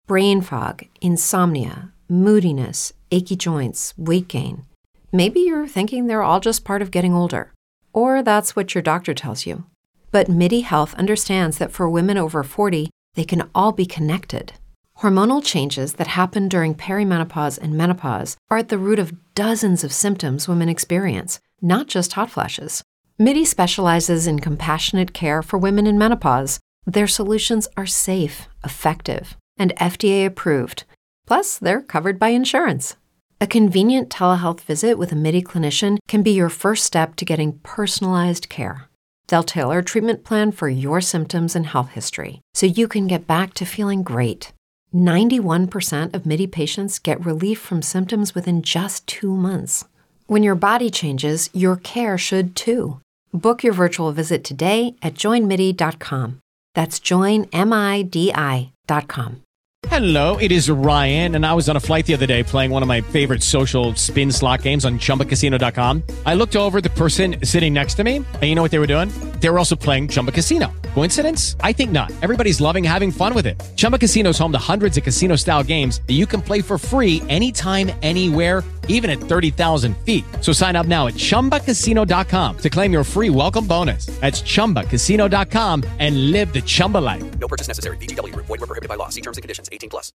brain fog, insomnia, moodiness, achy joints, weight gain. Maybe you're thinking they're all just part of getting older, or that's what your doctor tells you. But MIDI Health understands that for women over 40, they can all be connected. Hormonal changes that happen during perimenopause and menopause are at the root of dozens of symptoms women experience, not just hot flashes. MIDI specializes in compassionate care for women in menopause. Their solutions are safe, effective, and FDA approved. Plus, they're covered by insurance. A convenient telehealth visit with a MIDI clinician can be your first step to getting personalized care. They'll tailor a treatment plan for your symptoms and health history, so you can get back to feeling great. 91% of MIDI patients get relief from symptoms within just 2 months. When your body changes, your care should too. Book your virtual visit today at joinmidi.com. That's joinmidi.com. Hello, it is Ryan, and I was on a flight the other day playing one of my favorite social spin slot games on ChumbaCasino.com. I looked over at the person sitting next to me, and you know what they were doing? They were also playing Chumba Casino. Coincidence? I think not. Everybody's loving having fun with it. Chumba Casino is home to hundreds of casino-style games that you can play for free anytime, anywhere, even at 30,000 feet. So sign up now at ChumbaCasino.com to claim your free welcome bonus. That's ChumbaCasino.com and live the Chumba life. No purchase necessary. VGW. Void where prohibited by law. See terms and conditions. 18+.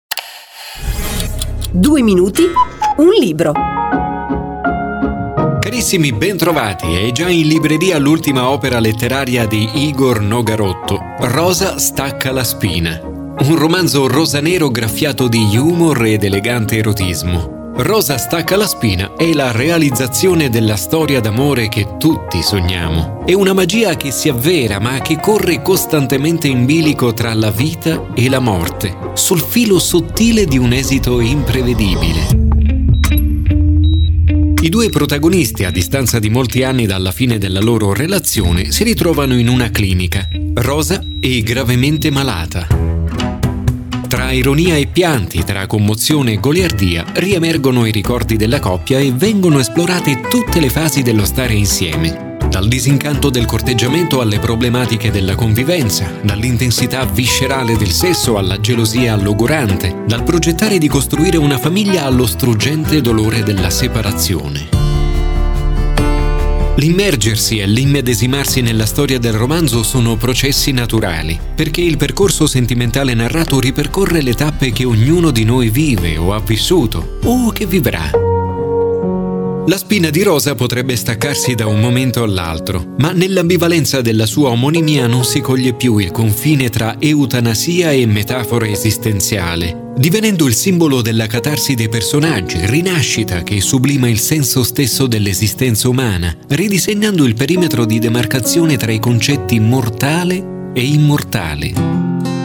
2 minuti, un libro. Carissimi, bentrovati. È già in libreria l'ultima opera letteraria di Igor Nogarotto, Rosa stacca la spina. Un romanzo rosanero graffiato di humor ed elegante erotismo. Rosa stacca la spina è la realizzazione della storia d'amore che tutti sogniamo. È una magia che si avvera ma che corre costantemente in bilico tra la vita e la morte, sul filo sottile di un esito imprevedibile. I due protagonisti, a distanza di molti anni dalla fine della loro relazione, si ritrovano in una clinica. Rosa è gravemente malata. Tra ironia e pianti, tra commozione e goliardia, riemergono i ricordi della coppia e vengono esplorate tutte le fasi dello stare insieme. Dal disincanto del corteggiamento alle problematiche della convivenza, dall'intensità viscerale del sesso alla gelosia logorante, dal progettare di costruire una famiglia allo struggente dolore della separazione. L'immergersi e l'immedesimarsi nella storia del romanzo sono processi naturali, perché il percorso sentimentale narrato ripercorre le tappe che ognuno di noi vive o ha vissuto, o che vivrà. La spina di Rosa potrebbe staccarsi da un momento all'altro, ma nell'ambivalenza della sua omonimia non si coglie più il confine tra eutanasia e metafora esistenziale, divenendo il simbolo della catarsi dei personaggi, rinascita che sublima il senso stesso dell'esistenza umana, ridisegnando il perimetro di demarcazione tra i concetti mortale e immortale.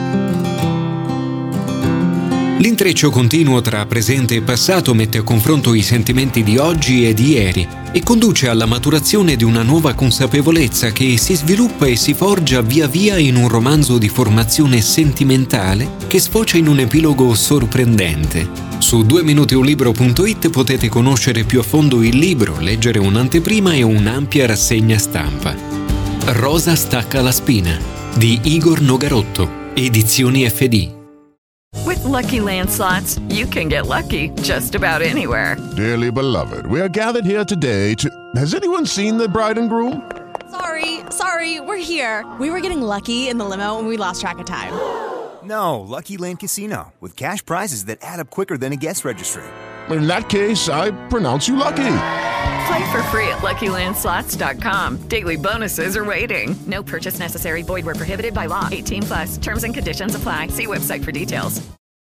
L'intreccio continuo tra presente e passato mette a confronto i sentimenti di oggi e di ieri e conduce alla maturazione di una nuova consapevolezza che si sviluppa e si forgia via via in un romanzo di formazione sentimentale che sfocia in un epilogo sorprendente. Su 2minutiunlibro.it potete conoscere più a fondo il libro, leggere un'anteprima e un'ampia rassegna stampa. Rosa stacca la spina di Igor Nogarotto, edizioni FD. With Lucky Land Slots, you can get lucky just about anywhere. Dearly beloved, we are gathered here today to... Has anyone seen the bride and groom? Sorry, we're here. We were getting lucky in the limo and we lost track of time. No, Lucky Land Casino, with cash prizes that add up quicker than a guest registry. In that case, I pronounce you lucky. Play for free at LuckyLandSlots.com. Daily bonuses are waiting. No purchase necessary. Void where prohibited by law. 18+. Terms and conditions apply. See website for details.